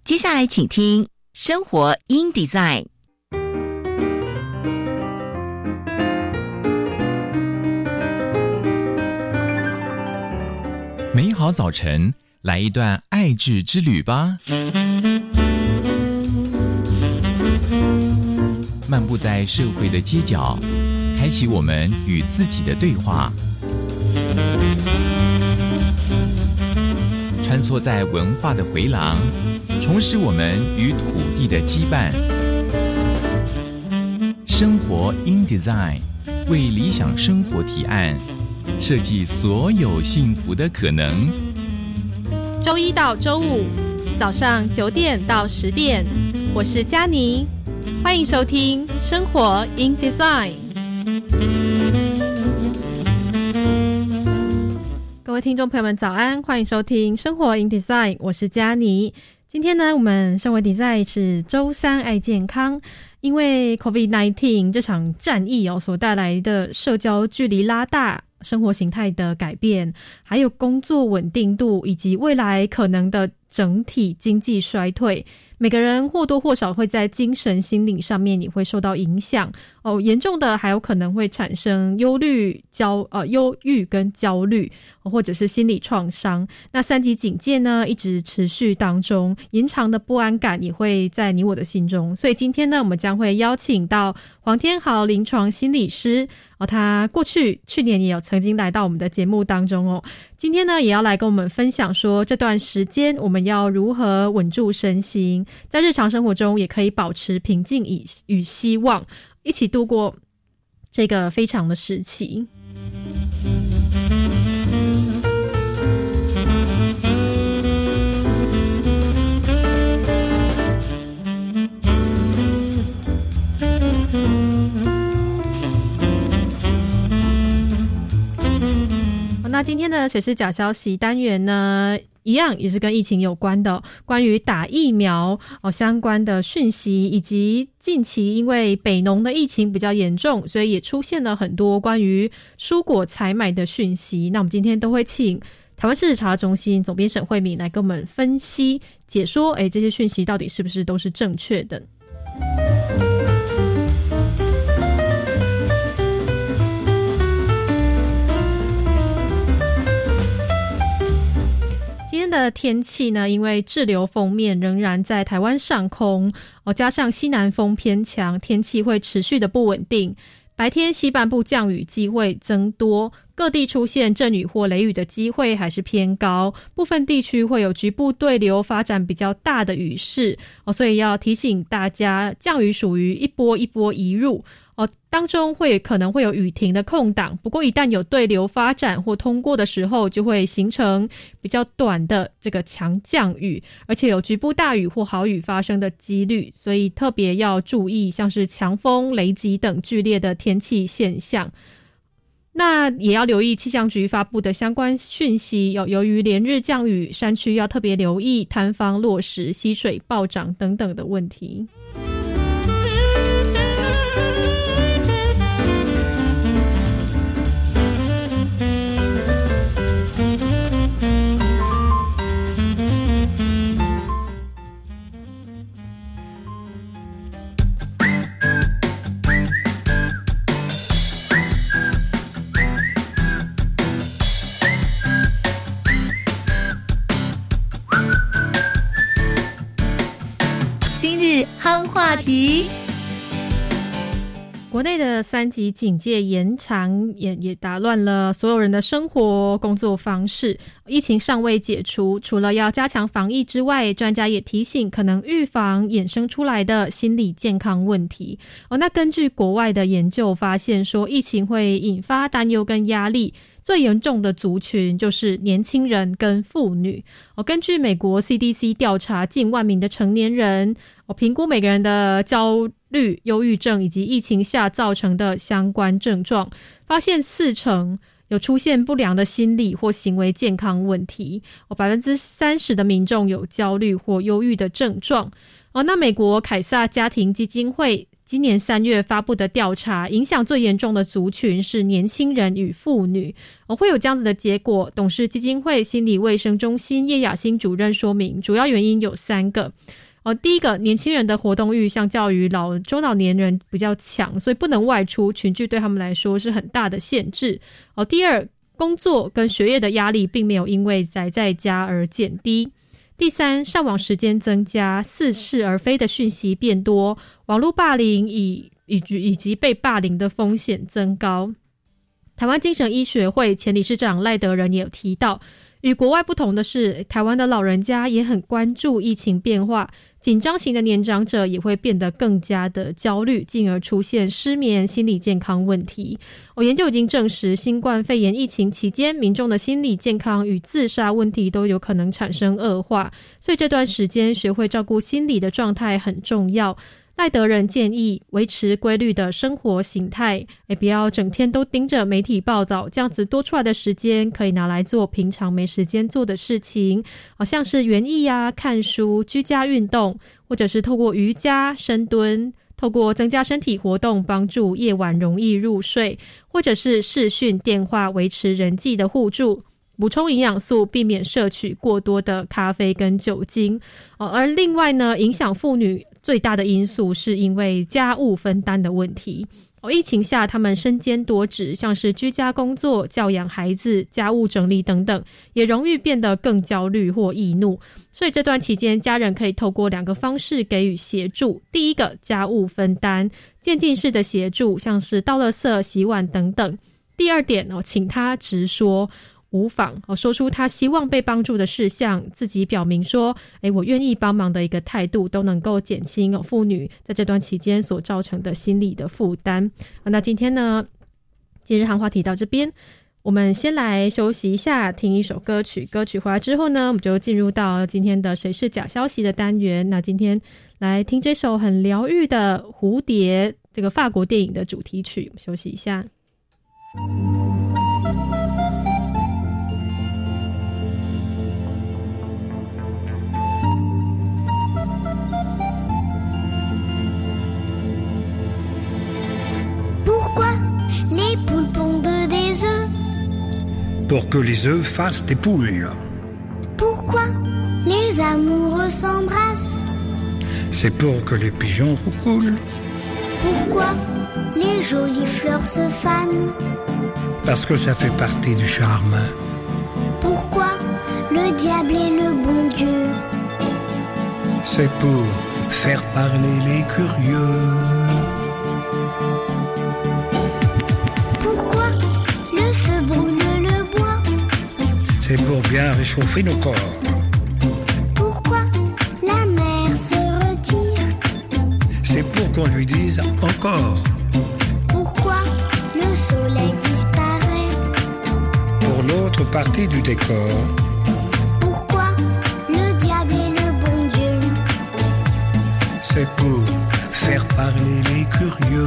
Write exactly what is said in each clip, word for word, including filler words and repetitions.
接下来请听生活 in Design。 美好早晨，来一段爱智之旅吧。漫步在社会的街角，开启我们与自己的对话。穿梭在文化的回廊，重拾我们与土地的羁绊。生活 in Design 为理想生活提案，设计所有幸福的可能。 周一到周五早上九点到十点，我是嘉妮，欢迎收听生活 in Design。 各位听众朋友们早安，欢迎收听生活 in Design， 我是嘉妮。今天呢，我们生活 Design 是周三爱健康。因为 COVID 十九 这场战役哦所带来的社交距离拉大、生活形态的改变，还有工作稳定度以及未来可能的整体经济衰退，每个人或多或少会在精神心理上面也会受到影响哦，严重的还有可能会产生忧虑、焦呃忧郁跟焦虑，或者是心理创伤。那三级警戒呢一直持续当中，延长的不安感也会在你我的心中。所以今天呢，我们将会邀请到黄天豪临床心理师哦，他过去去年也有曾经来到我们的节目当中哦。今天呢，也要来跟我们分享说，这段时间我们要如何稳住身心，在日常生活中也可以保持平静与希望，一起度过这个非常的时期。那今天的谁是假消息单元呢，一样也是跟疫情有关的，关于打疫苗、哦、相关的讯息，以及近期因为北农的疫情比较严重，所以也出现了很多关于蔬果采买的讯息。那我们今天都会请台湾市查中心总编沈慧敏来跟我们分析解说，诶，这些讯息到底是不是都是正确的。今天的天气呢，因为滞留锋面仍然在台湾上空哦，加上西南风偏强，天气会持续的不稳定。白天西半部降雨机会增多，各地出现阵雨或雷雨的机会还是偏高，部分地区会有局部对流发展比较大的雨势哦，所以要提醒大家，降雨属于一波一波移入哦，当中会可能会有雨停的空档，不过一旦有对流发展或通过的时候，就会形成比较短的这个强降雨，而且有局部大雨或豪雨发生的几率，所以特别要注意像是强风、雷击等剧烈的天气现象。那也要留意气象局发布的相关讯息，有由于连日降雨，山区要特别留意坍方落石、溪水暴涨等等的问题。 夯话题。 国内的三级警戒延长也也打乱了所有人的生活工作方式，疫情尚未解除，除了要加强防疫之外，专家也提醒可能预防衍生出来的心理健康问题哦。那根据国外的研究发现说，疫情会引发担忧跟压力，最严重的族群就是年轻人跟妇女哦。根据美国 C D C 调查近万名的成年人，我评估每个人的焦虑、忧郁症以及疫情下造成的相关症状，发现四成有出现不良的心理或行为健康问题，哦，百分之三十的民众有焦虑或忧郁的症状。哦，那美国凯撒家庭基金会今年三月发布的调查，影响最严重的族群是年轻人与妇女。哦，会有这样子的结果，董事基金会心理卫生中心叶雅欣主任说明，主要原因有三个。哦，第一个，年轻人的活动欲相较于老中老年人比较强，所以不能外出，群聚对他们来说是很大的限制。哦，第二，工作跟学业的压力并没有因为宅在家而减低。第三，上网时间增加，似是而非的讯息变多，网络霸凌以以及以及被霸凌的风险增高。台湾精神医学会前理事长赖德仁也有提到，与国外不同的是，台湾的老人家也很关注疫情变化，紧张型的年长者也会变得更加的焦虑，进而出现失眠、心理健康问题。哦，研究已经证实，新冠肺炎疫情期间，民众的心理健康与自杀问题都有可能产生恶化，所以这段时间学会照顾心理的状态很重要。赖德仁建议维持规律的生活形态，也不要整天都盯着媒体报道，这样子多出来的时间可以拿来做平常没时间做的事情，好像是园艺啊、看书、居家运动，或者是透过瑜伽、深蹲，透过增加身体活动帮助夜晚容易入睡，或者是视讯电话维持人际的互助，补充营养素，避免摄取过多的咖啡跟酒精。哦，而另外呢，影响妇女最大的因素是因为家务分担的问题。哦，疫情下他们身兼多职，像是居家工作、教养孩子、家务整理等等，也容易变得更焦虑或易怒。所以这段期间，家人可以透过两个方式给予协助。第一个，家务分担，渐进式的协助，像是倒垃圾、洗碗等等。第二点，哦，请他直说，无妨，说出他希望被帮助的事项，自己表明说，诶，我愿意帮忙的一个态度，都能够减轻妇女在这段期间所造成的心理的负担。那今天呢，今日汉话题到这边，我们先来休息一下，听一首歌曲。歌曲回来之后呢，我们就进入到今天的谁是假消息的单元。那今天来听这首很疗愈的《蝴蝶》，这个法国电影的主题曲。休息一下。 Les poules pondent des œufs pour que les œufs fassent des poules. Pourquoi les amoureux s'embrassent? C'est pour que les pigeons roucoulent. Pourquoi les jolies fleurs se fanent? Parce que ça fait partie du charme. Pourquoi le diable est le bon Dieu? C'est pour faire parler les curieux. C'est pour bien réchauffer nos corps. Pourquoi la mer se retire? C'est pour qu'on lui dise encore. Pourquoi le soleil disparaît? Pour l'autre partie du décor. Pourquoi le diable est le bon Dieu? C'est pour faire parler les curieux.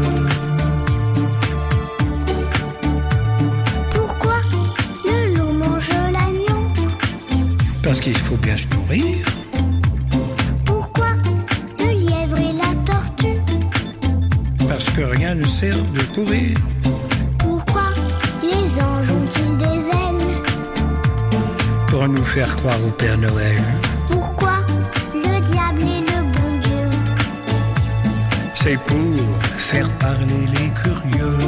Parce qu'il faut bien se nourrir. Pourquoi le lièvre et la tortue? Parce que rien ne sert de courir. Pourquoi les anges ont-ils des ailes? Pour nous faire croire au Père Noël. Pourquoi le diable est le bon Dieu? C'est pour faire parler les curieux.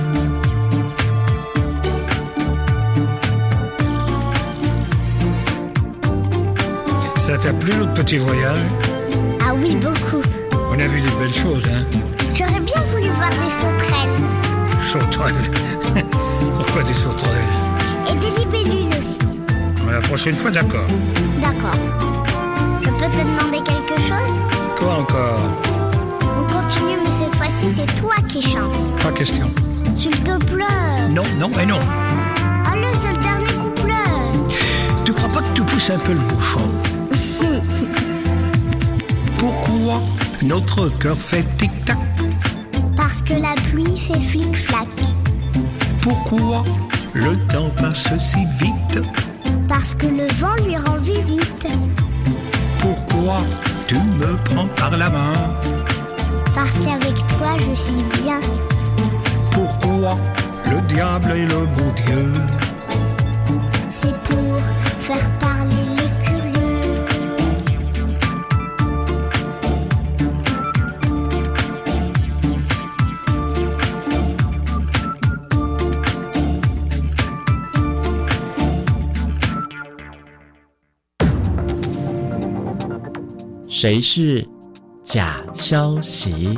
Ça t'a plu notre petit voyage? Ah oui, beaucoup. On a vu des belles choses, hein? J'aurais bien voulu voir des sauterelles. Sauterelles? Pourquoi des sauterelles? Et des libellules aussi. La prochaine fois, d'accord. D'accord. Je peux te demander quelque chose? Quoi encore? On continue, mais cette fois-ci, c'est toi qui chantes. Pas question. S'il te plaît. Non, non et non. Allez, c'est le dernier couplet. Tu crois pas que tu pousses un peu le bouchon? Pourquoi notre cœur fait tic-tac? Parce que la pluie fait flic-flac. Pourquoi le temps passe si vite? Parce que le vent lui rend visite. Pourquoi tu me prends par la main? parce qu'avec toi je suis bien. Pourquoi le diable est le bon Dieu? C'est pour faire parler les curieux. 谁是假消息？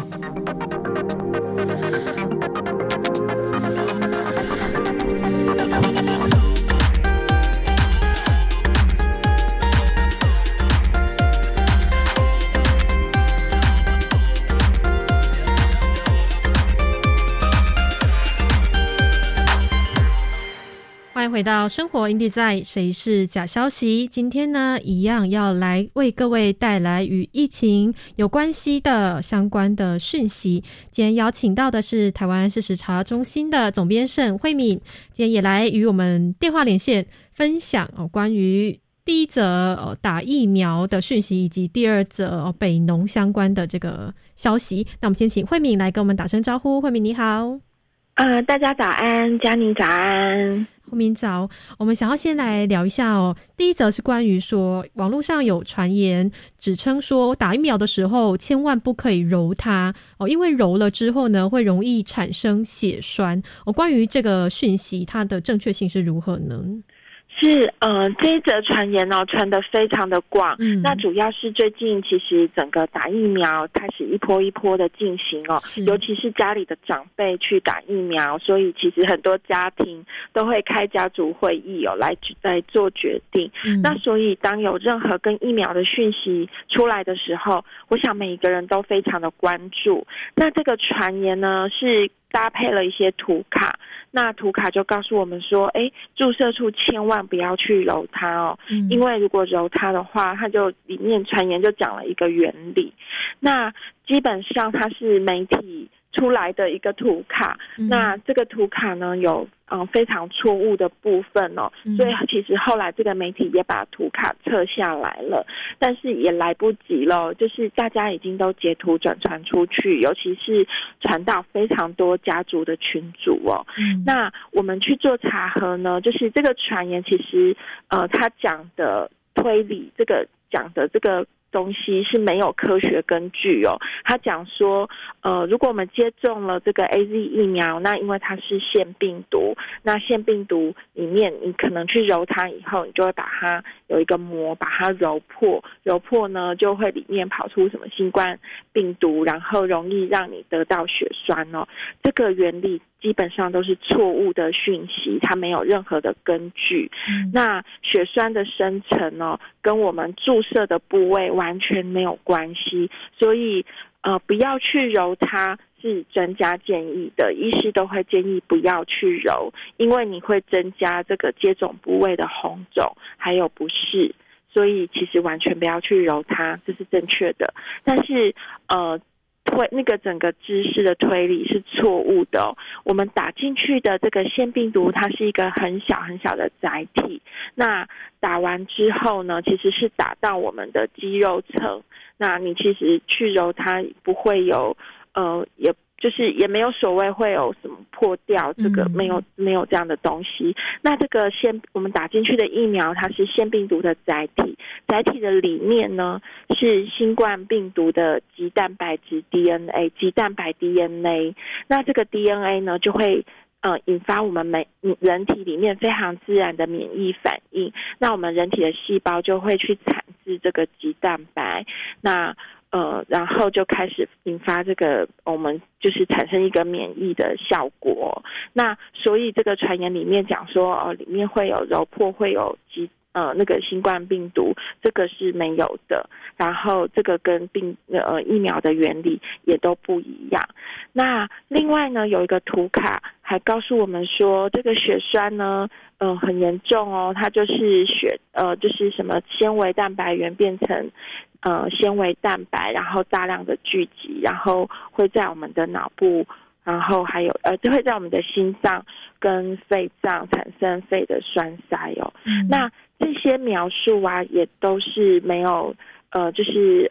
回到生活 InDesign 谁是假消息，今天呢一样要来为各位带来与疫情有关系的相关的讯息。今天邀请到的是台湾事实查中心的总编沈慧敏，今天也来与我们电话连线分享、哦、关于第一则、哦、打疫苗的讯息，以及第二则、哦、北农相关的这个消息。那我们先请慧敏来跟我们打声招呼。慧敏你好。 呃，大家早安，嘉妮早安。 慧敏早，我们想要先来聊一下哦。第一则是关于说，网络上有传言指称说，打疫苗的时候千万不可以揉它哦，因为揉了之后呢，会容易产生血栓哦。关于这个讯息，它的正确性是如何呢？ 是，呃，这一则传言哦，传得非常的广。嗯，那主要是最近其实整个打疫苗开始一波一波的进行哦，尤其是家里的长辈去打疫苗，所以其实很多家庭都会开家族会议哦，来来做决定。嗯，那所以当有任何跟疫苗的讯息出来的时候，我想每一个人都非常的关注。那这个传言呢，是搭配了一些图卡，那图卡就告诉我们说，哎，注射处千万不要去揉它哦，嗯，因为如果揉它的话，它就里面传言就讲了一个原理，那基本上它是媒体出来的一个图卡，嗯，那这个图卡呢有嗯非常错误的部分哦，嗯，所以其实后来这个媒体也把图卡撤下来了，但是也来不及了，就是大家已经都截图转传出去，尤其是传到非常多家族的群组哦。嗯，那我们去做查核呢，就是这个传言其实呃他讲的推理，这个讲的这个东西是没有科学根据哦。他讲说，呃，如果我们接种了这个 A Z 疫苗，那因为它是腺病毒，那腺病毒里面你可能去揉它以后，你就会把它有一个膜把它揉破，揉破呢就会里面跑出什么新冠病毒，然后容易让你得到血栓哦。这个原理基本上都是错误的讯息，它没有任何的根据。嗯，那血栓的生成呢，跟我们注射的部位完全没有关系，所以呃不要去揉它是专家建议的，医师都会建议不要去揉，因为你会增加这个接种部位的红肿还有不适，所以其实完全不要去揉它，这是正确的。但是呃推那个整个知识的推理是错误的哦。我们打进去的这个腺病毒，它是一个很小很小的载体。那打完之后呢，其实是打到我们的肌肉层。那你其实去揉它不会有，呃，也就是也没有所谓会有什么破掉，这个没有没有这样的东西。那这个腺我们打进去的疫苗，它是腺病毒的载体，载体的里面呢是新冠病毒的棘蛋白质 D N A， 棘蛋白 D N A。那这个 D N A 呢就会呃引发我们每人体里面非常自然的免疫反应。那我们人体的细胞就会去产制这个棘蛋白，那呃，然后就开始引发这个我们就是产生一个免疫的效果。那所以这个传言里面讲说，哦，里面会有揉破，会有疾呃那个新冠病毒，这个是没有的。然后这个跟病呃疫苗的原理也都不一样。那另外呢，有一个图卡还告诉我们说，这个血栓呢，呃很严重哦，它就是血呃就是什么纤维蛋白原变成呃纤维蛋白，然后大量的聚集，然后会在我们的脑部，然后还有呃就会在我们的心脏跟肺脏产生肺的栓塞哦。嗯，那这些描述啊，也都是没有呃就是呃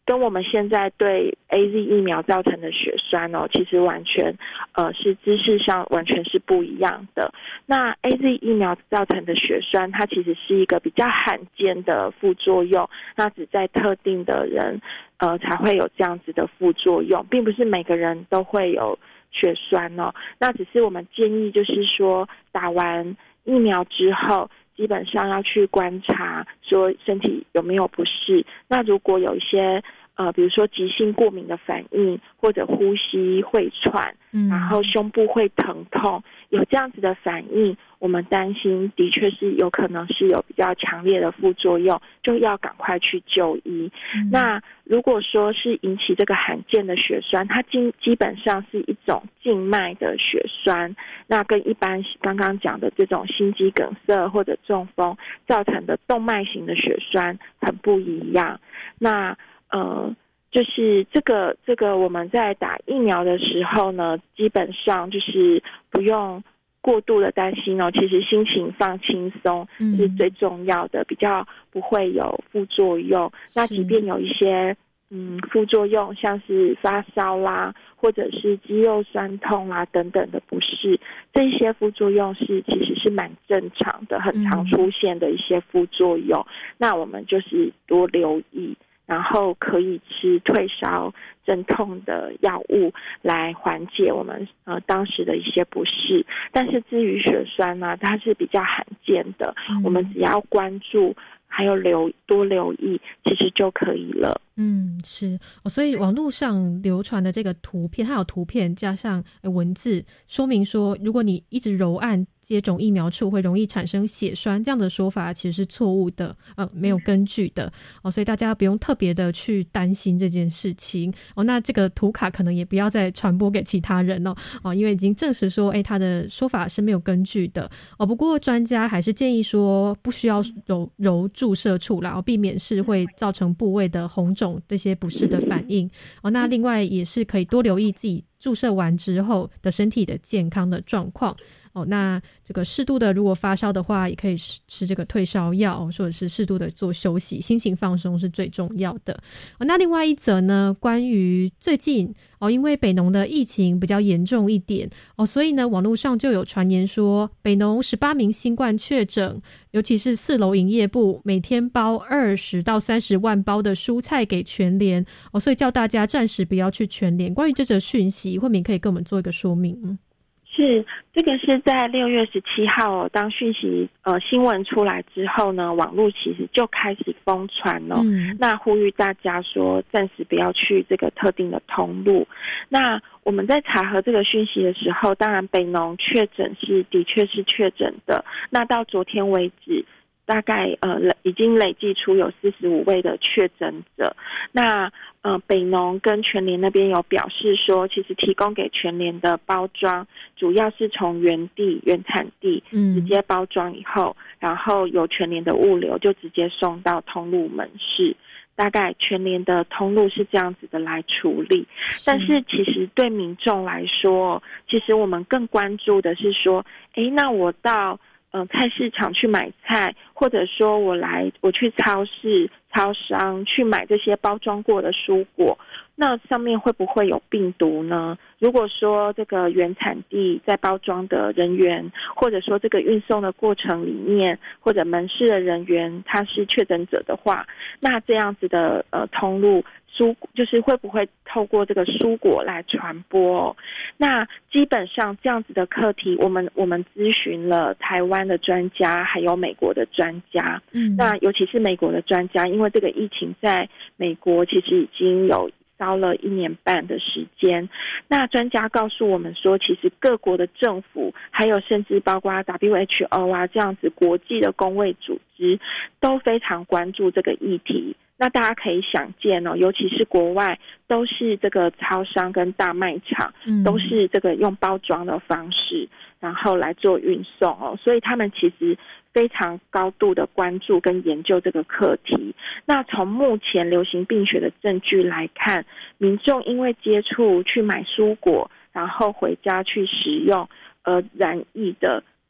跟我们现在对 A Z 疫苗造成的血栓哦，其实完全呃是知识上完全是不一样的。那 A Z 疫苗造成的血栓，它其实是一个比较罕见的副作用，那只在特定的人呃才会有这样子的副作用，并不是每个人都会有血栓哦。那只是我们建议就是说，打完疫苗之后，基本上要去观察说身体有没有不适。那如果有一些呃，比如说急性过敏的反应，或者呼吸会喘，嗯，然后胸部会疼痛，有这样子的反应，我们担心的确是有可能是有比较强烈的副作用，就要赶快去就医。嗯、那如果说是引起这个罕见的血栓，它基基本上是一种静脉的血栓，那跟一般刚刚讲的这种心肌梗塞或者中风造成的动脉型的血栓很不一样。那呃，就是这个这个我们在打疫苗的时候呢，基本上就是不用过度的担心哦，其实心情放轻松是最重要的，嗯、比较不会有副作用。那即便有一些嗯副作用，像是发烧啦，或者是肌肉酸痛啦等等的不适，这些副作用是其实是蛮正常的，很常出现的一些副作用。嗯、那我们就是多留意。然后可以吃退烧镇痛的药物来缓解我们呃当时的一些不适。但是至于血栓呢，它是比较罕见的，嗯、我们只要关注还有留多留意，其实就可以了。 嗯，是、哦、所以网络上流传的这个图片，它有图片加上文字说明说，如果你一直揉按接种疫苗处会容易产生血栓，这样的说法其实是错误的，呃，没有根据的哦，所以大家不用特别的去担心这件事情哦。那这个图卡可能也不要再传播给其他人哦，哦，因为已经证实说，哎，他的说法是没有根据的哦。不过专家还是建议说，不需要揉揉注射处啦，哦，避免是会造成部位的红肿这些不适的反应哦。那另外也是可以多留意自己注射完之后的身体的健康的状况。哦，那这个适度的，如果发烧的话，也可以吃这个退烧药，或者是适度的做休息，心情放松是最重要的。哦，那另外一则呢，关于最近哦，因为北农的疫情比较严重一点哦，所以呢，网络上就有传言说，北农十八名新冠确诊，尤其是四楼营业部每天包二十到三十万包的蔬菜给全联哦，所以叫大家暂时不要去全联。关于这则讯息，慧敏可以跟我们做一个说明。 是，这个是在六月十七号哦，当讯息呃新闻出来之后呢，网络其实就开始疯传哦。嗯、那呼吁大家说，暂时不要去这个特定的通路。那我们在查核这个讯息的时候，当然北农确诊是的确是确诊的。那到昨天为止，大概呃已经累计出有四十五位的确诊者。那呃北农跟全联那边有表示说，其实提供给全联的包装主要是从原地原产地直接包装以后，嗯、然后由全联的物流就直接送到通路门市。大概全联的通路是这样子的来处理。但是其实对民众来说，其实我们更关注的是说，诶，那我到呃菜市场去买菜，或者说我来我去超市超商去买这些包装过的蔬果，那上面会不会有病毒呢？如果说这个原产地在包装的人员，或者说这个运送的过程里面，或者门市的人员他是确诊者的话，那这样子的呃通路蔬就是会不会透过这个蔬果来传播哦？那基本上这样子的课题，我们我们咨询了台湾的专家，还有美国的专家。嗯，那尤其是美国的专家，因为这个疫情在美国其实已经有烧了一年半的时间。那专家告诉我们说，其实各国的政府，还有甚至包括 W H O 啊这样子国际的公卫组织，都非常关注这个议题。那大家可以想见哦，尤其是国外都是这个超商跟大卖场，嗯、都是这个用包装的方式，然后来做运送哦，所以他们其实非常高度的关注跟研究这个课题。那从目前流行病学的证据来看，民众因为接触去买蔬果，然后回家去食用而染疫的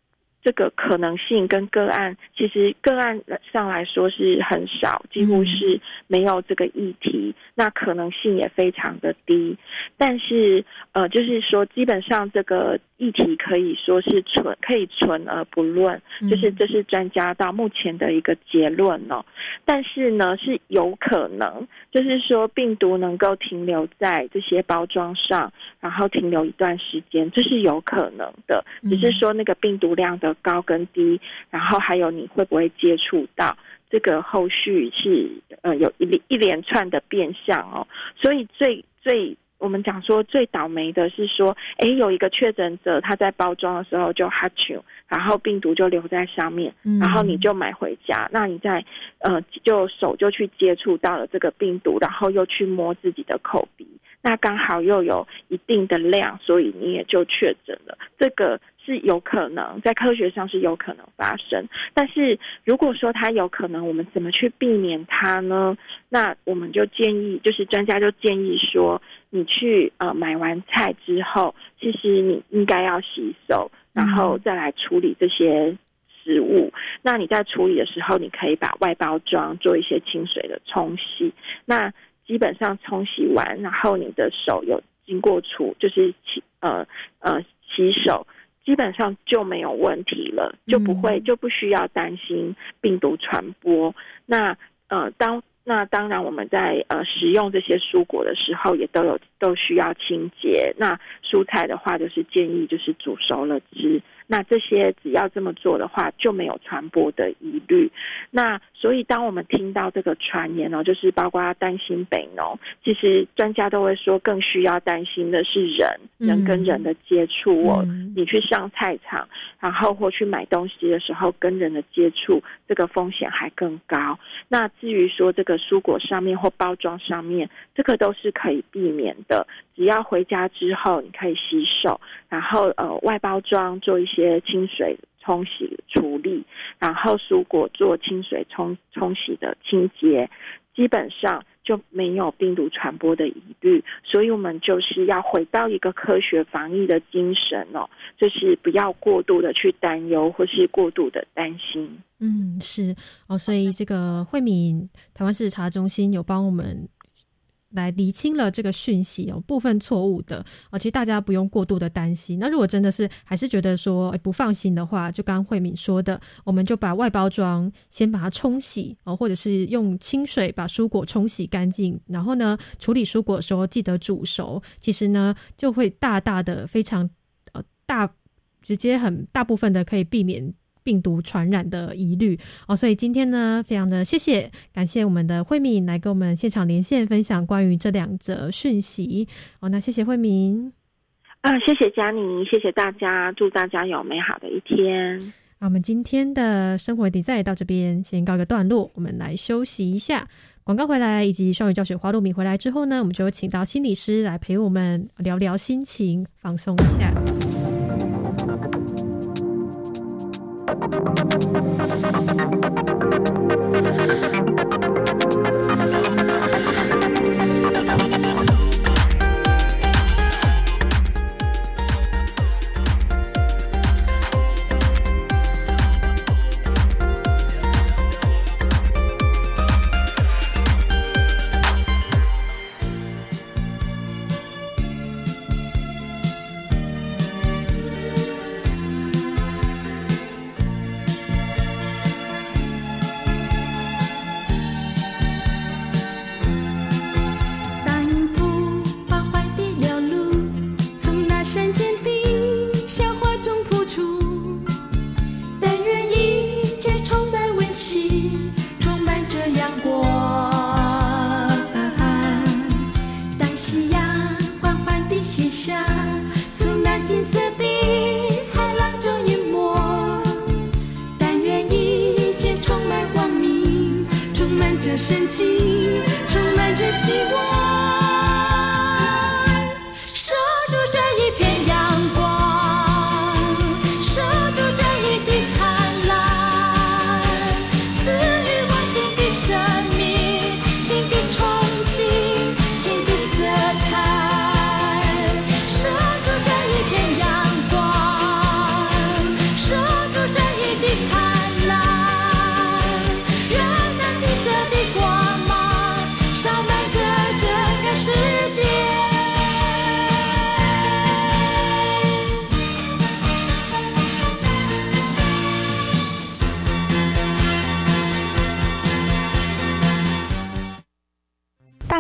这个可能性跟个案，其实个案上来说是很少，几乎是没有这个议题，那可能性也非常的低。但是呃，就是说基本上这个议题可以说是存可以存而不论，就是这是专家到目前的一个结论哦。但是呢，是有可能，就是说病毒能够停留在这些包装上，然后停留一段时间，这是有可能的。只是说那个病毒量的高跟低，然后还有你会不会接触到，这个后续是呃有一一连串的变相哦。所以最最我们讲说最倒霉的是说，哎，有一个确诊者他在包装的时候就哈啾，然后病毒就留在上面，然后你就买回家，那你在呃就手就去接触到了这个病毒，然后又去摸自己的口鼻，那刚好又有一定的量，所以你也就确诊了。这个是有可能，在科学上是有可能发生。但是如果说它有可能，我们怎么去避免它呢？那我们就建议，就是专家就建议说，你去呃买完菜之后，其实你应该要洗手，然后再来处理这些食物。那你在处理的时候，你可以把外包装做一些清水的冲洗。那基本上冲洗完，然后你的手有经过除，就是洗呃呃洗手，基本上就没有问题了，就不会就不需要担心病毒传播。那呃当那当然我们在呃食用这些蔬果的时候，也都有都需要清洁。那蔬菜的话，就是建议就是煮熟了吃。那这些只要这么做的话，就没有传播的疑虑。那所以当我们听到这个传言哦，就是包括担心北农，其实专家都会说更需要担心的是人人跟人的接触哦。嗯、你去上菜场，然后或去买东西的时候跟人的接触，这个风险还更高。那至于说这个蔬果上面或包装上面，这个都是可以避免的。只要回家之后你可以洗手，然后呃外包装做一些清水冲洗处理，然后蔬果做清水冲冲洗的清洁，基本上就没有病毒传播的疑虑。所以我们就是要回到一个科学防疫的精神哦，就是不要过度的去担忧或是过度的担心。 嗯，是哦，所以这个慧敏台湾市查中心有帮我们来厘清了这个讯息哦，部分错误的哦，其实大家不用过度的担心。那如果真的是还是觉得说、欸、不放心的话，就刚刚慧敏说的，我们就把外包装先把它冲洗哦，或者是用清水把蔬果冲洗干净，然后呢处理蔬果的时候记得煮熟，其实呢就会大大的非常呃大直接很大部分的可以避免病毒传染的疑虑哦，所以今天呢，非常的谢谢，感谢我们的慧敏来跟我们现场连线分享关于这两则讯息哦。那谢谢慧敏啊，谢谢嘉妮，谢谢大家，祝大家有美好的一天。 好，我们今天的生活 design 到这边先告一个段落，我们来休息一下。广告回来以及双语教学花露米回来之后呢，我们就请到心理师来陪我们聊聊心情，放松一下。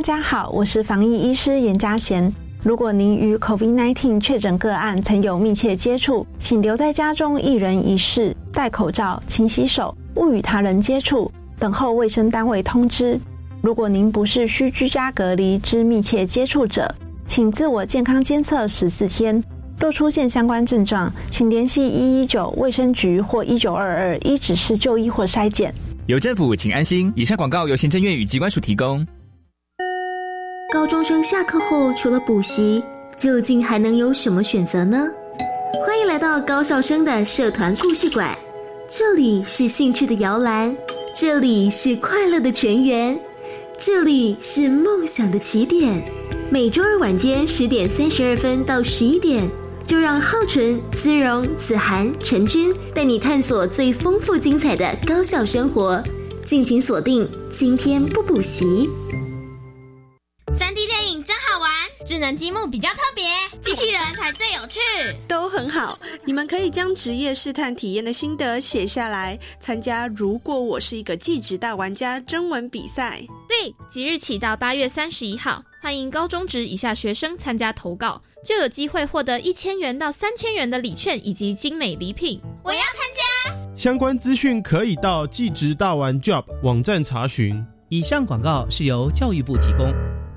家好，我是防疫医师严嘉贤。如果您与 COVID 十九 确诊个案曾有密切接触，请留在家中一人一室，戴口罩、勤洗手，勿与他人接触，等候卫生单位通知。如果您不是需居家隔离之密切接触者，请自我健康监测十四天。若出现相关症状，请联系一一九卫生局或一九二二依指示就医或筛检。 有政府，请安心。以上广告由行政院与疾管署提供。 高中生下课后除了补习，究竟还能有什么选择呢？欢迎来到高校生的社团故事馆，这里是兴趣的摇篮，这里是快乐的泉源，这里是梦想的起点。每周二晚间十点三十二分到十一点，就让浩纯、姿蓉、子涵、陈君带你探索最丰富精彩的高校生活。敬请锁定今天不补习。 三 D 电影真好玩，智能积木比较特别，机器人才最有趣。 都很好，你们可以将职业试探体验的心得写下来，参加如果我是一个技职大玩家征文比赛。 对，即日起到八月三十一号，欢迎高中职以下学生参加投稿，就有机会获得一千元到三千元的礼券以及精美礼品。 我要参加！ 相关资讯可以到技职大玩 Job 网站查询。 以上广告是由教育部提供。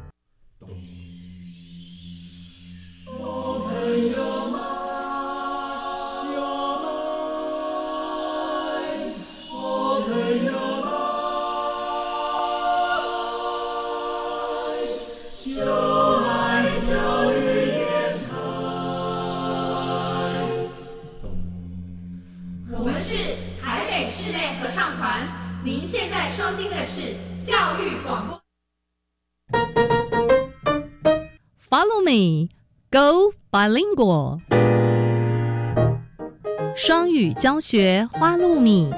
您现在收听的是教育广播。 Follow me, go bilingual。双语教学花露米。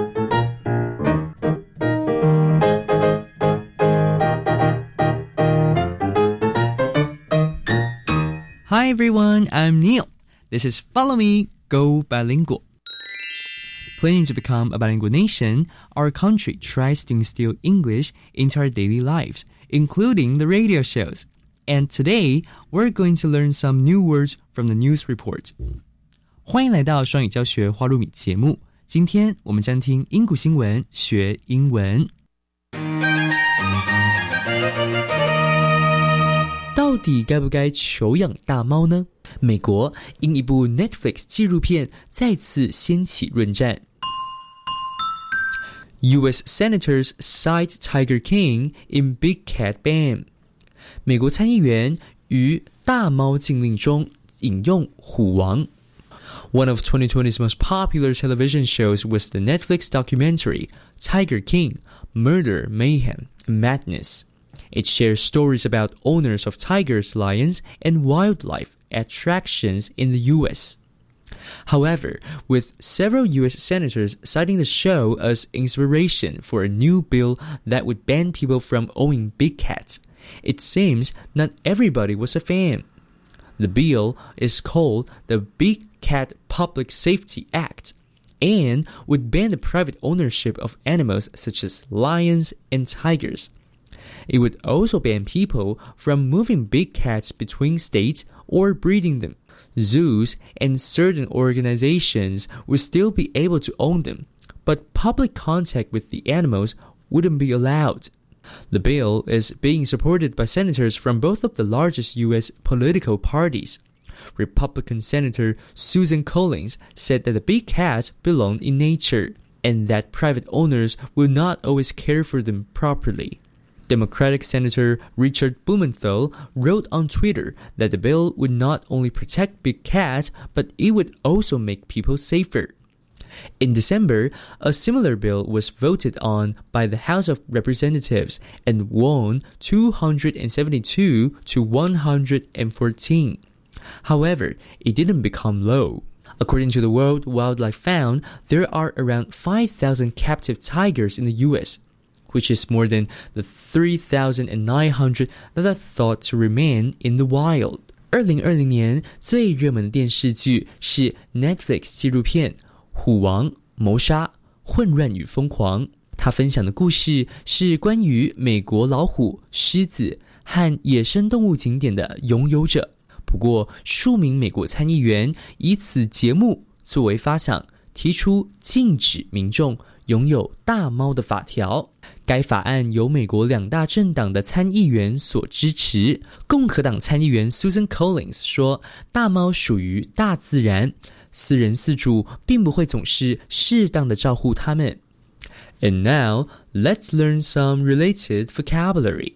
Hi everyone, I'm Neil. This is Follow Me, Go Bilingual. Planning to become a bilingual nation, our country tries to instill English into our daily lives, including the radio shows. And today, we're going to learn some new words from the news report. 欢迎来到双语教学花露米节目。今天我们将听英古新闻学英文。到底该不该求养大猫呢？美国因一部 Netflix 纪录片再次掀起论战。U S Senators cite Tiger King in Big Cat ban. 美国参议员于大猫禁令中引用虎王。One of twenty twenty's most popular television shows was the Netflix documentary Tiger King, Murder, Mayhem, and Madness. It shares stories about owners of tigers, lions, and wildlife attractions in the U S. However, with several U S senators citing the show as inspiration for a new bill that would ban people from owning big cats, it seems not everybody was a fan. The bill is called the Big Cat Public Safety Act and would ban the private ownership of animals such as lions and tigers. It would also ban people from moving big cats between states or breeding them. Zoos and certain organizations would still be able to own them, but public contact with the animals wouldn't be allowed. The bill is being supported by senators from both of the largest U S political parties. Republican Senator Susan Collins said that the big cats belong in nature, and that private owners will not always care for them properly. Democratic Senator Richard Blumenthal wrote on Twitter that the bill would not only protect big cats, but it would also make people safer. In December, a similar bill was voted on by the House of Representatives and won two hundred seventy-two to one hundred fourteen. However, it didn't become law. According to the World Wildlife Fund, there are around five thousand captive tigers in the U S, which is more than the three thousand nine hundred that are thought to remain in the wild. 二零二零年最热门的电视剧是 Netflix 纪录片《虎王谋杀混乱与疯狂》。 他分享的故事是关于美国老虎、狮子和野生动物景点的拥有者。不过，数名美国参议员以此节目作为发想，提出禁止民众拥有大猫的法条。该法案由美国两大政党的参议员所支持。共和党参议员 Susan Collins 说，大猫属于大自然，私人饲主并不会总是适当的照顾它们。And now, let's learn some related vocabulary.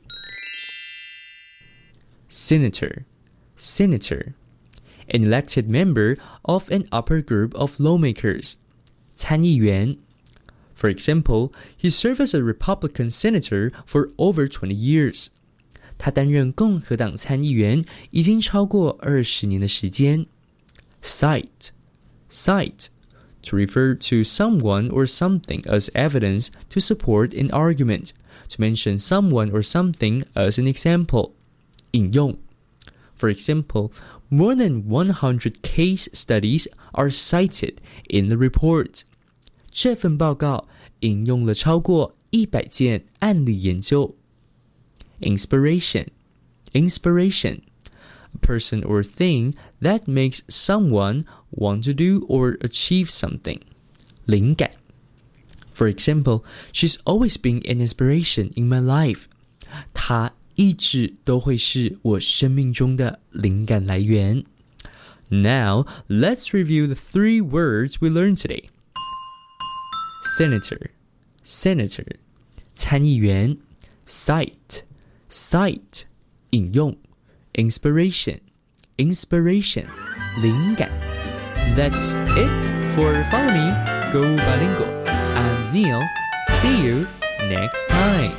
Senator, senator, an elected member of an upper group of lawmakers. 参议员 For example, he served as a Republican senator for over twenty years. 他担任共和党参议员已经超过二十年的时间。Cite, cite, to refer to someone or something as evidence to support an argument, to mention someone or something as an example. 引用 For example, more than one hundred case studies are cited in the report. 这份报告引用了超过一百件案例研究。Inspiration, inspiration, a person or thing that makes someone want to do or achieve something. 灵感 For example, she's always been an inspiration in my life. 她一直都会是我生命中的灵感来源。Now, let's review the three words we learned today. Senator, senator, 参议员 Cite, cite, 引用 Inspiration, inspiration, 灵感 That's it for Follow Me, Go Bilingual. I'm Neil. See you next time.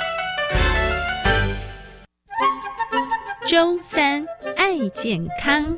周三爱健康。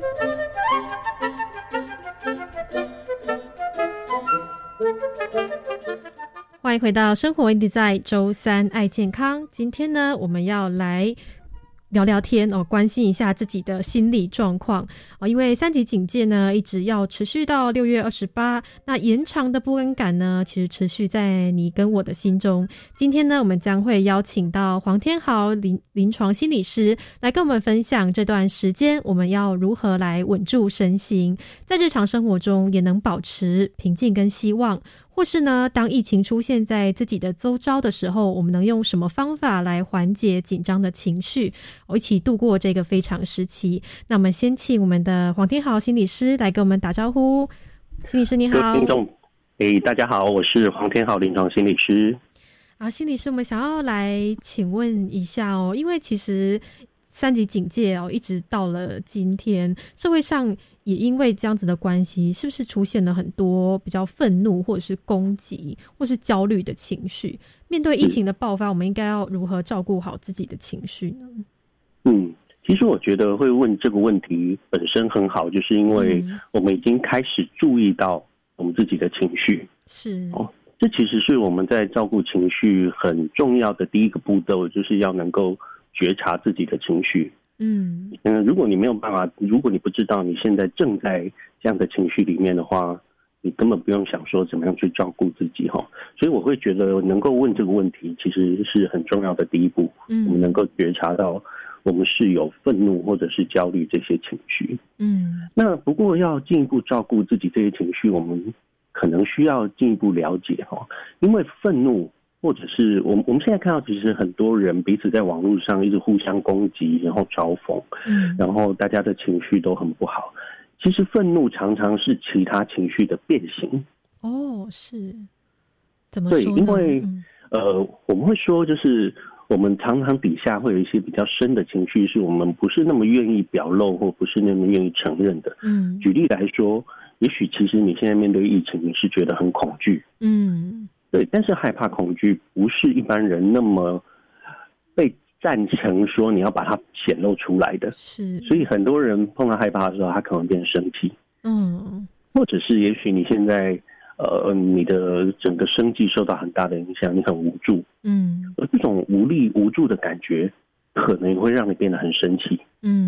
欢迎回到生活 in Design 周三爱健康。今天呢，我们要来聊聊天哦，关心一下自己的心理状况哦。因为三级警戒呢，一直要持续到六月二十八，那延长的不安感呢，其实持续在你跟我的心中。今天呢，我们将会邀请到黄天豪临临床心理师来跟我们分享这段时间我们要如何来稳住身心，在日常生活中也能保持平静跟希望。或是呢，当疫情出现在自己的周遭的时候，我们能用什么方法来缓解紧张的情绪，我一起度过这个非常时期。那我们先请我们的黄天豪心理师来跟我们打招呼。心理师你好。 听众，诶，大家好，我是黄天豪临床心理师。 啊，心理师，我们想要来请问一下哦，因为其实三级警戒哦，一直到了今天，社会上也因为这样子的关系，是不是出现了很多比较愤怒或者是攻击或是焦虑的情绪？面对疫情的爆发，我们应该要如何照顾好自己的情绪呢？ 嗯，其实我觉得会问这个问题本身很好，就是因为我们已经开始注意到我们自己的情绪。 是哦，这其实是我们在照顾情绪很重要的第一个步骤，就是要能够觉察自己的情绪。嗯嗯，如果你没有办法，如果你不知道你现在正在这样的情绪里面的话，你根本不用想说怎么样去照顾自己哈。所以我会觉得能够问这个问题，其实是很重要的第一步。嗯，我们能够觉察到我们是有愤怒或者是焦虑这些情绪。嗯，那不过要进一步照顾自己这些情绪，我们可能需要进一步了解哈，因为愤怒。或者是我们我们现在看到，其实很多人彼此在网络上一直互相攻击，然后嘲讽，嗯，然后大家的情绪都很不好。其实愤怒常常是其他情绪的变形。 哦，是怎么说呢？ 对，因为、嗯、呃，我们会说，就是我们常常底下会有一些比较深的情绪，是我们不是那么愿意表露，或不是那么愿意承认的。嗯，举例来说，也许其实你现在面对疫情，你是觉得很恐惧。嗯。对，但是害怕恐惧不是一般人那么被赞成说你要把它显露出来的，是，所以很多人碰到害怕的时候，他可能变生气，嗯，或者是也许你现在呃你的整个生计受到很大的影响，你很无助，嗯，而这种无力无助的感觉，可能会让你变得很生气，嗯。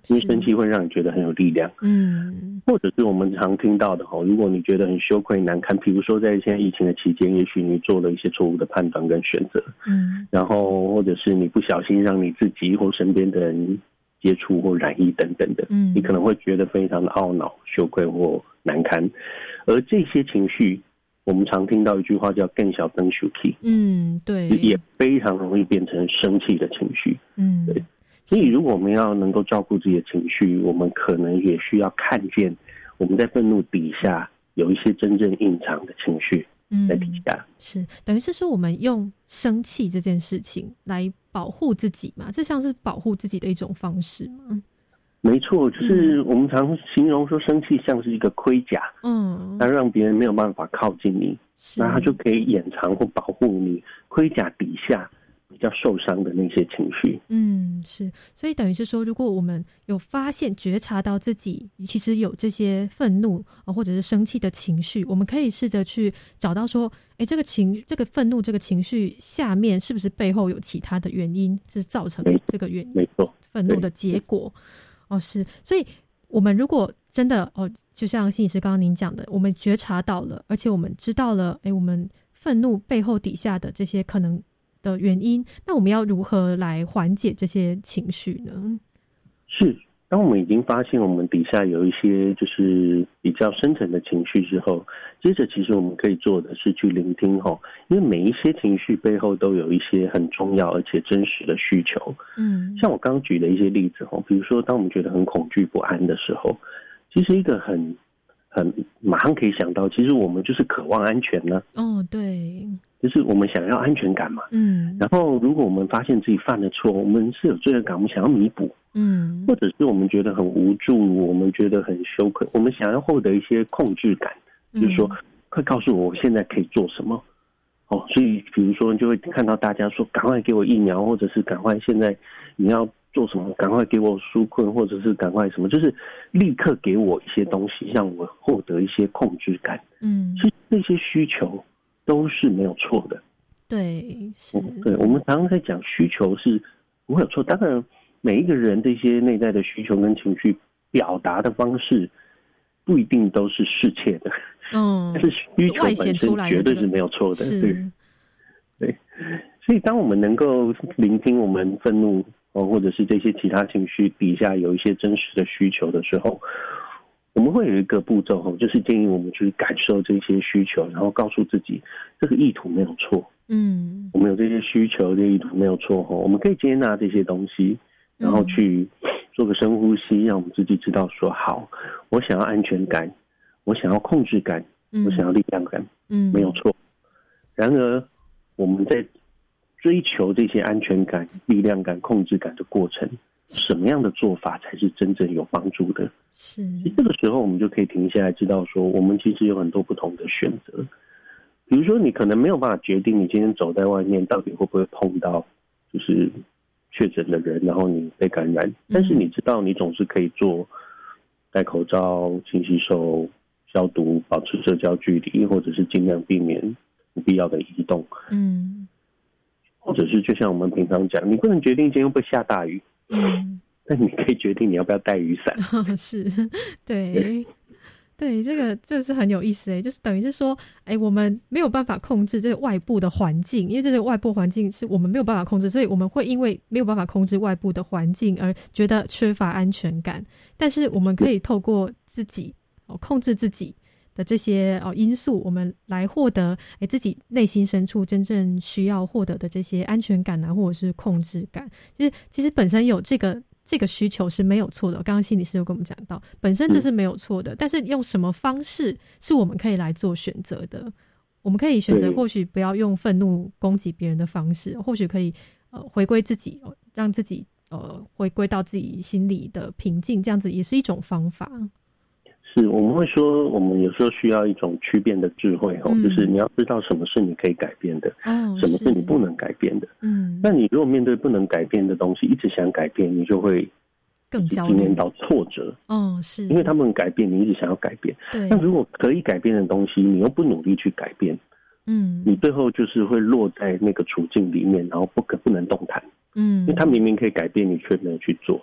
因为生气会让你觉得很有力量。 嗯， 或者是我们常听到的哈，如果你觉得很羞愧难堪，比如说在现在疫情的期间，也许你做了一些错误的判断跟选择， 嗯， 然后或者是你不小心让你自己或身边的人接触或染疫等等的， 嗯， 你可能会觉得非常的懊恼、羞愧或难堪，而这些情绪，我们常听到一句话叫"更小更生气"， 嗯，对， 也非常容易变成生气的情绪， 嗯， 对。所以，如果我们要能够照顾自己的情绪，我们可能也需要看见我们在愤怒底下有一些真正隐藏的情绪在底下。 嗯、是，等于是说我们用生气这件事情来保护自己嘛？这像是保护自己的一种方式吗？ 没错，就是我们常形容说生气像是一个盔甲， 嗯， 它让别人没有办法靠近你，那它就可以掩藏或保护你盔甲底下比较受伤的那些情绪。 嗯，是，所以等于是说，如果我们有发现、觉察到自己其实有这些愤怒或者是生气的情绪，我们可以试着去找到说，哎，这个情、这个愤怒、这个情绪下面是不是背后有其他的原因，是造成这个原因？ 没错， 愤怒的结果。哦，是，所以我们如果真的哦，就像心理师刚刚您讲的，我们觉察到了，而且我们知道了，哎，我们愤怒背后底下的这些可能的原因，那我们要如何来缓解这些情绪呢？ 是，当我们已经发现我们底下有一些就是比较深层的情绪之后，接着其实我们可以做的是去聆听齁，因为每一些情绪背后都有一些很重要而且真实的需求。 嗯， 像我刚刚举的一些例子齁，比如说当我们觉得很恐惧不安的时候，其实一个很很马上可以想到，其实我们就是渴望安全呢。 哦，对。 就是我们想要安全感嘛， 嗯， 然后如果我们发现自己犯了错，我们是有罪恶感，我们想要弥补， 嗯， 或者是我们觉得很无助，我们觉得很羞愧，我们想要获得一些控制感，嗯、就是说，快告诉我我现在可以做什么，哦，所以比如说你就会看到大家说，赶快给我疫苗，或者是赶快现在你要做什么，赶快给我纾困，或者是赶快什么，就是立刻给我一些东西，让我获得一些控制感， 嗯， 所以这些需求都是没有错的， 对，是， 对，我们常常在讲需求是不会有错，当然每一个人这些内在的需求跟情绪表达的方式不一定都是适切的， 嗯， 但是需求本身绝对是没有错的， 这个、 对，对，所以当我们能够聆听我们愤怒哦，或者是这些其他情绪底下有一些真实的需求的时候，我们会有一个步骤，就是建议我们去感受这些需求，然后告诉自己这个意图没有错， 嗯， 我们有这些需求，这个意图没有错，我们可以接纳这些东西，然后去做个深呼吸，让我们自己知道说，好，我想要安全感，我想要控制感，我想要力量感， 嗯， 没有错。然而我们在追求这些安全感、力量感、控制感的过程，什么样的做法才是真正有帮助的？ 是， 这个时候我们就可以停下来，知道说，我们其实有很多不同的选择。比如说，你可能没有办法决定你今天走在外面到底会不会碰到就是确诊的人，然后你被感染，但是你知道你总是可以做戴口罩、勤洗手、消毒、保持社交距离，或者是尽量避免不必要的移动。 嗯， 或者是就像我们平常讲，你不能决定今天会不会下大雨， 嗯， 但你可以决定你要不要带雨伞。 是，对，对，这个这是很有意思诶，就是等于是说，哎，我们没有办法控制这个外部的环境，因为这个外部环境是我们没有办法控制，所以我们会因为没有办法控制外部的环境而觉得缺乏安全感。但是我们可以透过自己哦控制自己的这些哦因素，我们来获得哎自己内心深处真正需要获得的这些安全感啊，或者是控制感。其实其实本身有这个这个需求是没有错的。刚刚心理师有跟我们讲到，本身这是没有错的，嗯、但是用什么方式是我们可以来做选择的。我们可以选择或许不要用愤怒攻击别人的方式，或许可以呃回归自己，让自己呃回归到自己心里的平静，这样子也是一种方法。 是，我们会说，我们有时候需要一种区辨的智慧，嗯、就是你要知道什么是你可以改变的， 哦、 什么是你不能改变的。 嗯， 那你如果面对不能改变的东西，一直想改变，你就会更焦虑， 经验到挫折。 哦，是， 因为他们改变，你一直想要改变。 对。 那如果可以改变的东西，你又不努力去改变， 嗯， 你最后就是会落在那个处境里面，然后不可不能动弹。 嗯， 因为他明明可以改变，你却没有去做，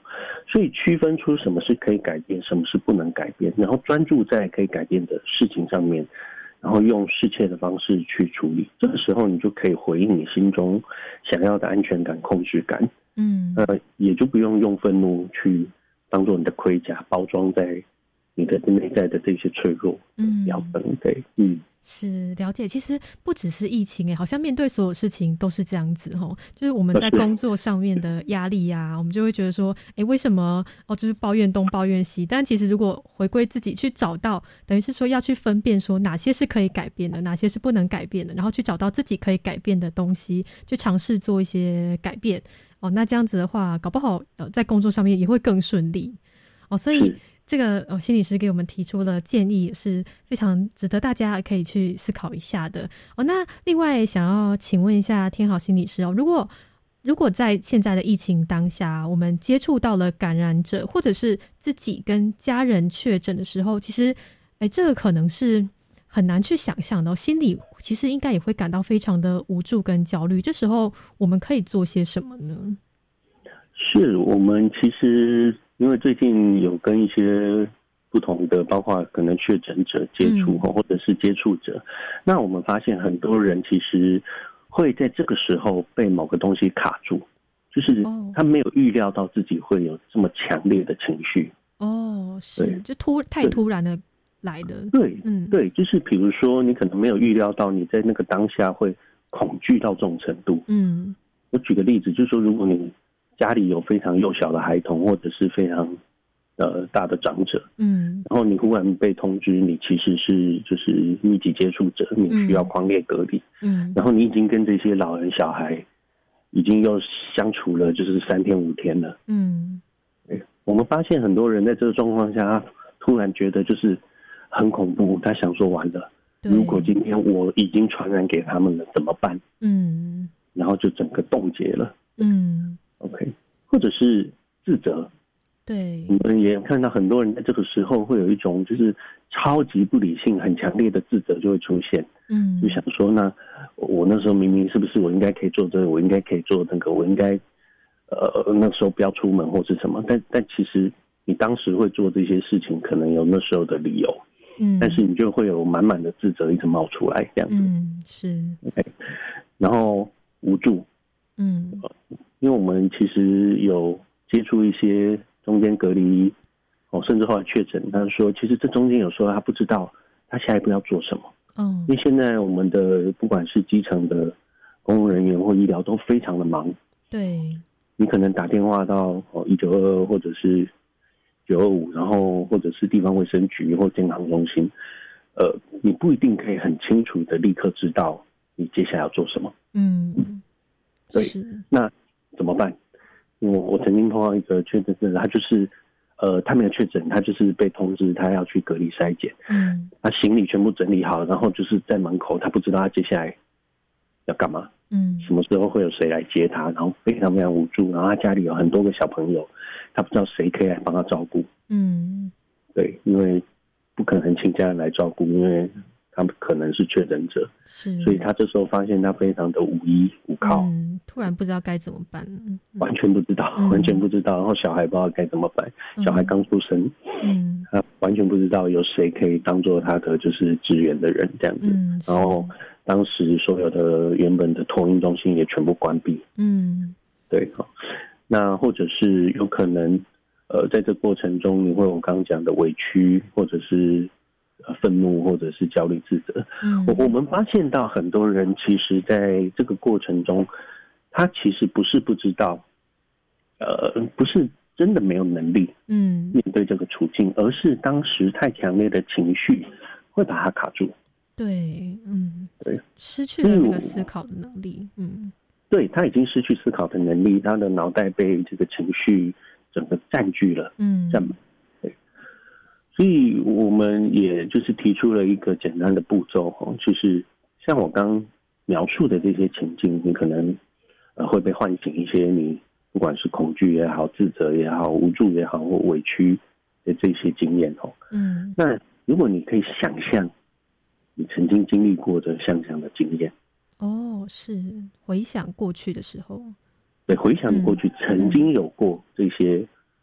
所以区分出什么是可以改变，什么是不能改变，然后专注在可以改变的事情上面，然后用适切的方式去处理。这个时候你就可以回应你心中想要的安全感、控制感。嗯，呃，也就不用用愤怒去当做你的盔甲，包装在你的内在的这些脆弱嗯标本。对，嗯。 是了解，其实不只是疫情，好像面对所有事情都是这样子，就是我们在工作上面的压力啊，我们就会觉得说，哎，为什么哦，就是抱怨东抱怨西。但其实如果回归自己去找到，等于是说要去分辨说哪些是可以改变的，哪些是不能改变的，然后去找到自己可以改变的东西，去尝试做一些改变哦。那这样子的话，搞不好呃在工作上面也会更顺利哦。所以这个呃心理师给我们提出了建议，也是非常值得大家可以去思考一下的哦。那另外想要请问一下天豪心理师哦，如果如果在现在的疫情当下，我们接触到了感染者，或者是自己跟家人确诊的时候，其实哎，这个可能是很难去想象的哦，心里其实应该也会感到非常的无助跟焦虑。这时候我们可以做些什么呢？ 是我们其实。因为最近有跟一些不同的，包括可能确诊者接触，嗯、或者是接触者，那我们发现很多人其实会在这个时候被某个东西卡住，就是他没有预料到自己会有这么强烈的情绪。哦， 是，就突太突然的来的。 对，嗯，对，就是比如说你可能没有预料到你在那个当下会恐惧到这种程度。嗯，我举个例子，就是说如果你家里有非常幼小的孩童，或者是非常呃大的长者，嗯，然后你忽然被通知你其实是就是密集接触者，你需要匡列隔离，嗯，然后你已经跟这些老人小孩已经又相处了就是三天五天了，嗯，我们发现很多人在这个状况下，他突然觉得就是很恐怖，他想说完了，如果今天我已经传染给他们了怎么办？嗯，然后就整个冻结了，嗯。OK， 或者是自责，对，我们也看到很多人在这个时候会有一种就是超级不理性、很强烈的自责就会出现，嗯，就想说，那我那时候明明是不是我应该可以做这个，我应该可以做那个，我应该呃那时候不要出门或是什么，但但其实你当时会做这些事情，可能有那时候的理由，嗯，但是你就会有满满的自责一直冒出来，这样子，嗯，是 ，OK， 然后无助，嗯。因为我们其实有接触一些中间隔离，哦，甚至后来确诊，他说其实这中间有时候他不知道他下一步要做什么。嗯，因为现在我们的不管是基层的公务人员或医疗都非常的忙。对，你可能打电话到哦一九二二或者是九二五，然后或者是地方卫生局或健康中心，呃，你不一定可以很清楚的立刻知道你接下来要做什么。嗯，对，那怎么办？因为我曾经碰到一个确诊者，他就是呃，他没有确诊，他就是被通知他要去隔离筛检，嗯，他行李全部整理好，然后就是在门口，他不知道他接下来要干嘛，嗯，什么时候会有谁来接他，然后非常非常无助，然后他家里有很多个小朋友，他不知道谁可以来帮他照顾，嗯，对，因为不可能请家人来照顾，因为他们可能是确诊者，是，所以他这时候发现他非常的无依无靠，嗯， 突然不知道该怎么办，嗯、 完全不知道、嗯，完全不知道，然后小孩不知道该怎么办，嗯、小孩刚出生，嗯，他完全不知道有谁可以当做他的就是支援的人这样子，嗯、然后当时所有的原本的托婴中心也全部关闭，嗯，对，好，那或者是有可能，呃，在这过程中你会有我刚刚讲的委屈，或者是。愤怒或者是焦虑自责，嗯，我我们发现到很多人其实在这个过程中，他其实不是不知道，呃，不是真的没有能力，嗯，面对这个处境，而是当时太强烈的情绪会把他卡住。 对，嗯，对，失去了那个思考的能力，嗯， 对，他已经失去思考的能力，他的脑袋被这个情绪整个占据了，嗯，占满。所以我们也就是提出了一个简单的步骤，就是像我刚描述的这些情境，你可能呃会被唤醒一些你不管是恐惧也好、自责也好、无助也好或委屈的这些经验哦。嗯，那如果你可以想象你曾经经历过的像这样的经验， 哦，是回想过去的时候， 对，回想过去曾经有过这些可比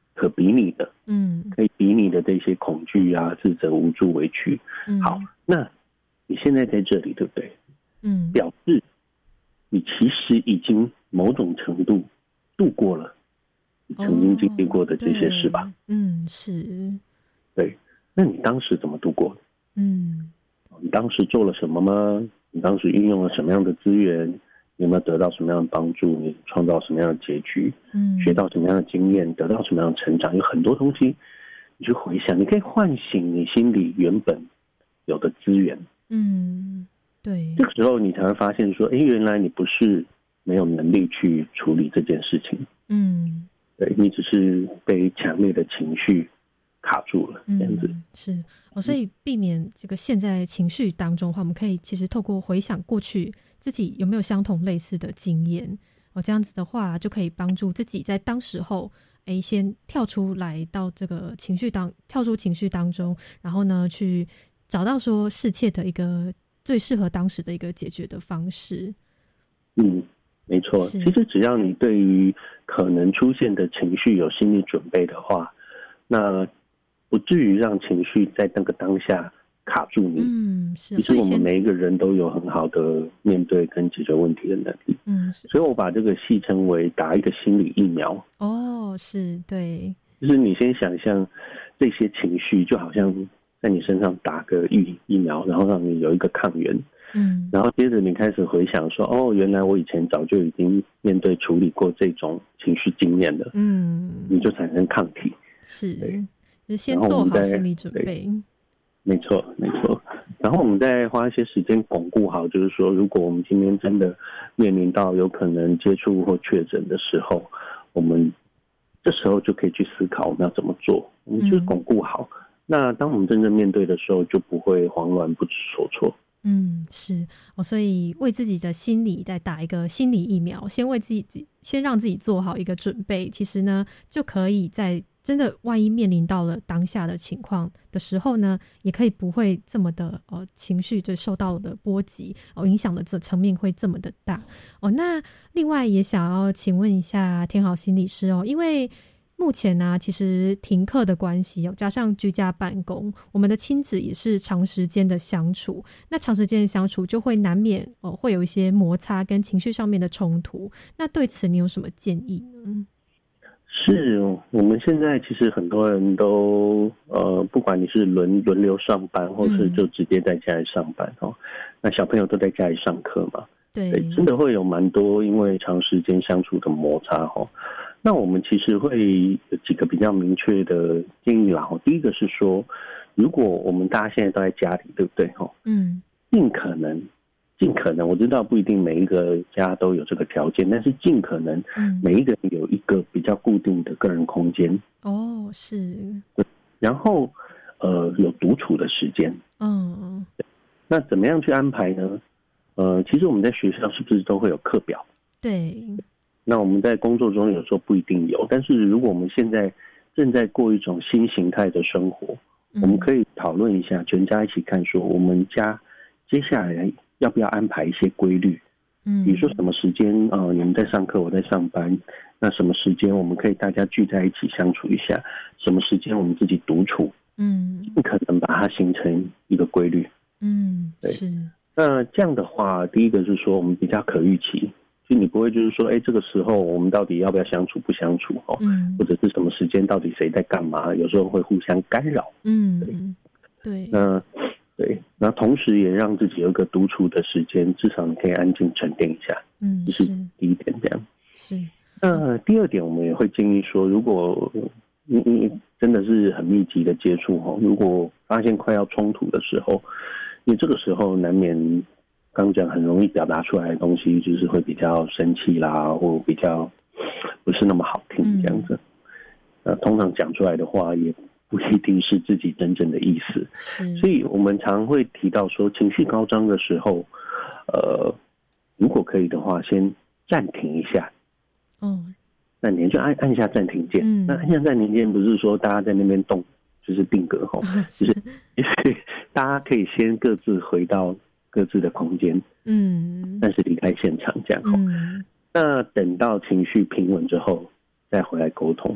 比拟的， 嗯， 可以比拟的这些恐惧啊、自责、无助、委屈。 嗯， 好，那你现在在这里，对不对？ 嗯， 表示你其实已经某种程度度过了你曾经经历过的这些事吧？ 哦、嗯，是。 对，那你当时怎么度过的？ 嗯， 你当时做了什么吗？你当时运用了什么样的资源？你有没有得到什么样的帮助？你创造什么样的结局？ 嗯， 学到什么样的经验？得到什么样的成长？有很多东西，你去回想，你可以唤醒你心里原本有的资源。 嗯，对。 这个时候你才会发现说，哎，原来你不是没有能力去处理这件事情。 嗯， 对，你只是被强烈的情绪卡住了，这样子。 嗯、是哦，所以避免这个陷在情绪当中的话，我们可以其实透过回想过去自己有没有相同类似的经验哦，这样子的话就可以帮助自己在当时候，哎，先跳出来到这个情绪当跳出情绪当中，然后呢，去找到说适切的一个最适合当时的一个解决的方式。 嗯，没错。其实只要你对于可能出现的情绪有心理准备的话，那不至于让情绪在那个当下卡住你。 嗯，是。 其实我们每一个人都有很好的面对跟解决问题的能力。 嗯， 所以我把这个戏称为打一个心理疫苗。 哦，是，对。 就是你先想象这些情绪就好像在你身上打个疫疫苗，然后让你有一个抗原。 嗯， 然后接着你开始回想说，哦，原来我以前早就已经面对处理过这种情绪经验了。 嗯， 你就产生抗体。 是，就先做好心理准备。 没错，没错。然后我们再花一些时间巩固好，就是说，如果我们今天真的面临到有可能接触或确诊的时候，我们这时候就可以去思考我们要怎么做，我们就巩固好。嗯、那当我们真正面对的时候，就不会慌乱不知所措。 嗯，是哦，所以为自己的心理再打一个心理疫苗，先为自己先让自己做好一个准备，其实呢，就可以在真的万一面临到了当下的情况的时候呢，也可以不会这么的呃情绪就受到的波及哦，影响的这层面会这么的大哦。那另外也想要请问一下天豪心理师哦，因为目前呢、啊，其实停课的关系哦，加上居家办公，我们的亲子也是长时间的相处。那长时间的相处就会难免哦，会有一些摩擦跟情绪上面的冲突。那对此你有什么建议呢？ 是，我们现在其实很多人都呃，不管你是轮轮流上班，或是就直接在家里上班哦，嗯、那小朋友都在家里上课嘛， 对， 对，真的会有蛮多因为长时间相处的摩擦哦。那我们其实会有几个比较明确的建议啦。第一个是说，如果我们大家现在都在家里，对不对？ 嗯， 尽可能，尽可能，我知道不一定每一个家都有这个条件，但是尽可能，每一个人有一个比较固定的个人空间。 哦，是。 然后，呃，有独处的时间。 嗯。 那怎么样去安排呢？呃，其实我们在学校是不是都会有课表？ 对。 那我们在工作中有时候不一定有，但是如果我们现在正在过一种新形态的生活，嗯、我们可以讨论一下，全家一起看说，我们家接下来要不要安排一些规律？嗯，比如说什么时间呃你们在上课，我在上班，那什么时间我们可以大家聚在一起相处一下？什么时间我们自己独处？ 嗯， 尽可能把它形成一个规律。 嗯， 对。 是。 那这样的话，第一个是说我们比较可预期。就你不会就是说，哎，这个时候我们到底要不要相处不相处哦？ 嗯， 或者是什么时间到底谁在干嘛？有时候会互相干扰。 嗯， 对。 对。 那对，那同时也让自己有一个独处的时间，至少你可以安静沉淀一下。 嗯， 这是第一点，这样。 是。 那第二点，我们也会建议说，如果你你真的是很密集的接触哦，如果发现快要冲突的时候，你这个时候难免。刚讲很容易表达出来的东西，就是会比较生气啦，或比较不是那么好听这样子。那、嗯、通常讲出来的话，也不一定是自己真正的意思。所以我们常会提到说，情绪高涨的时候，呃，如果可以的话，先暂停一下。 哦， 那你就按按下暂停键。嗯、那按下暂停键不是说大家在那边动，就是定格吼，就是就是大家可以先各自回到。各自的空间， 嗯， 但是离开现场这样。 嗯， 那等到情绪平稳之后，再回来沟通。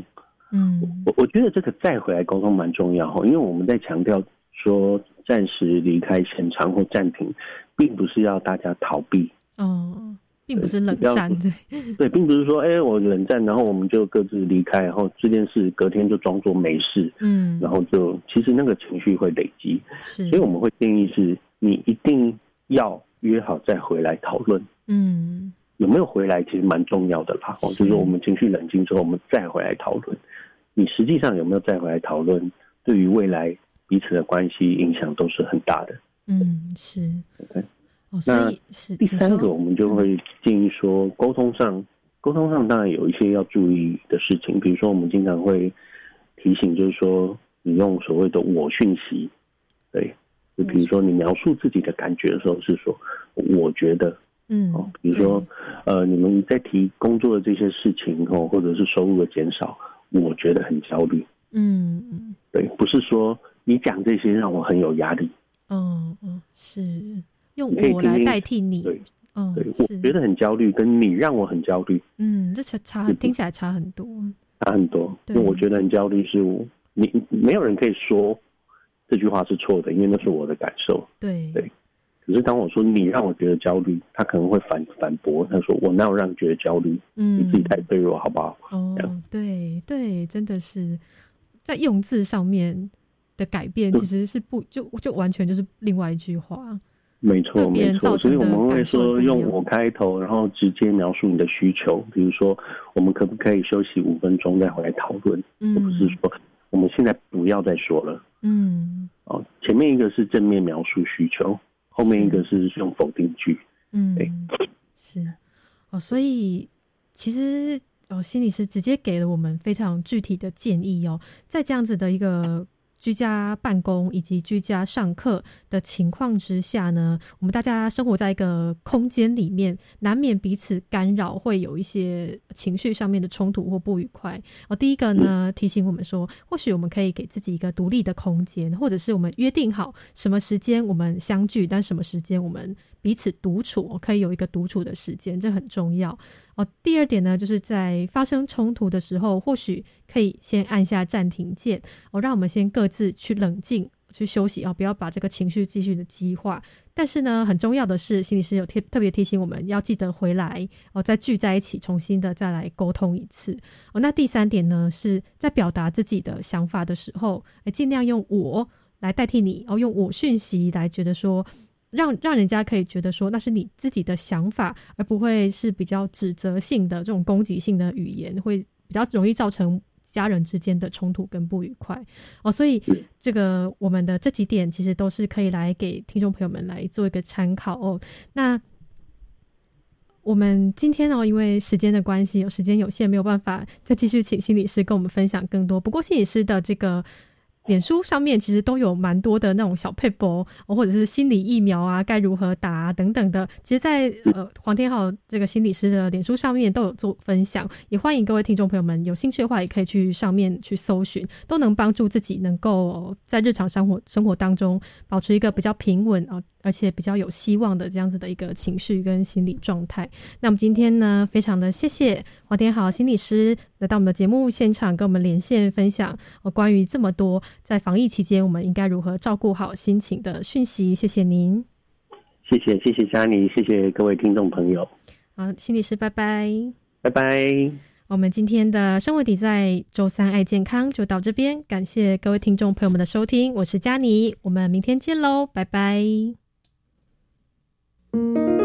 嗯，我我觉得这个再回来沟通蛮重要，因为我们在强调说暂时离开现场或暂停，并不是要大家逃避哦， 并不是冷战，对对，并不是说哎、欸、我冷战，然后我们就各自离开，然后这件事隔天就装作没事，嗯，然后就其实那个情绪会累积，是，所以我们会建议是你一定要约好再回来讨论，嗯，有没有回来其实蛮重要的啦，就是我们情绪冷静之后，我们再回来讨论，你实际上有没有再回来讨论，对于未来彼此的关系影响都是很大的，嗯，是 ，OK。哦、那第三个，我们就会建议说，沟通上，沟通上当然有一些要注意的事情，比如说我们经常会提醒，就是说你用所谓的我讯息，对，就比如说你描述自己的感觉的时候是说，我觉得，嗯，哦，比如说呃，你们在提工作的这些事情哦，或者是收入的减少，我觉得很焦虑，嗯嗯，对，不是说你讲这些让我很有压力，哦哦，是。 用我来代替你， 对，嗯，对，我觉得很焦虑，跟你让我很焦虑， 嗯，这差差听起来差很多， 差很多。因为我觉得很焦虑，是我你没有人可以说这句话是错的，因为那是我的感受， 对对。可是当我说你让我觉得焦虑，他可能会反反驳，他说我哪有让你觉得焦虑？嗯，你自己太脆弱，好不好？ 哦，对对，真的是在用字上面的改变，其实是不就就完全就是另外一句话。 没错，没错，所以我们会说用我开头，然后直接描述你的需求。比如说，我们可不可以休息五分钟再回来讨论？嗯，而不是说我们现在不要再说了。嗯，哦，前面一个是正面描述需求，后面一个是用否定句。嗯，对， 是哦，所以其实哦，心理师直接给了我们非常具体的建议哦，在这样子的一个居家办公以及居家上课的情况之下呢，我们大家生活在一个空间里面，难免彼此干扰，会有一些情绪上面的冲突或不愉快。哦，第一个呢，提醒我们说，或许我们可以给自己一个独立的空间，或者是我们约定好什么时间我们相聚，但什么时间我们彼此独处，可以有一个独处的时间，这很重要。哦，第二点呢，就是在发生冲突的时候，或许可以先按下暂停键，哦，让我们先各自去冷静、去休息哦，不要把这个情绪继续的激化。但是呢，很重要的是，心理师有特特别提醒我们要记得回来哦，再聚在一起，重新的再来沟通一次哦。那第三点呢，是在表达自己的想法的时候，尽量用我来代替你哦，用我讯息来觉得说。让让人家可以觉得说那是你自己的想法，而不会是比较指责性的这种攻击性的语言，会比较容易造成家人之间的冲突跟不愉快哦。所以这个我们的这几点其实都是可以来给听众朋友们来做一个参考哦。那我们今天哦，因为时间的关系，有时间有限，没有办法再继续请心理师跟我们分享更多。不过心理师的这个脸书上面其实都有蛮多的那种小撇步，或者是心理疫苗啊该如何打啊等等的，其实在呃黄天浩这个心理师的脸书上面都有做分享，也欢迎各位听众朋友们有兴趣的话也可以去上面去搜寻，都能帮助自己能够在日常生活生活当中保持一个比较平稳啊，而且比较有希望的这样子的一个情绪跟心理状态。那我们今天呢，非常的谢谢黄天浩心理师来到我们的节目现场跟我们连线分享、哦、关于这么多在防疫期间我们应该如何照顾好心情的讯息。谢谢您。 谢谢谢谢嘉妮，谢谢各位听众朋友。 好，心理师拜拜。 拜拜。 我们今天的生活底在周三爱健康就到这边，感谢各位听众朋友们的收听，我是嘉妮，我们明天见喽，拜拜。